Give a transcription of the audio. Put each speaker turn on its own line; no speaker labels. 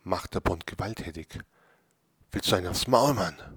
macht der Bund gewalttätig. Willst du einen aufs Maul, Mann?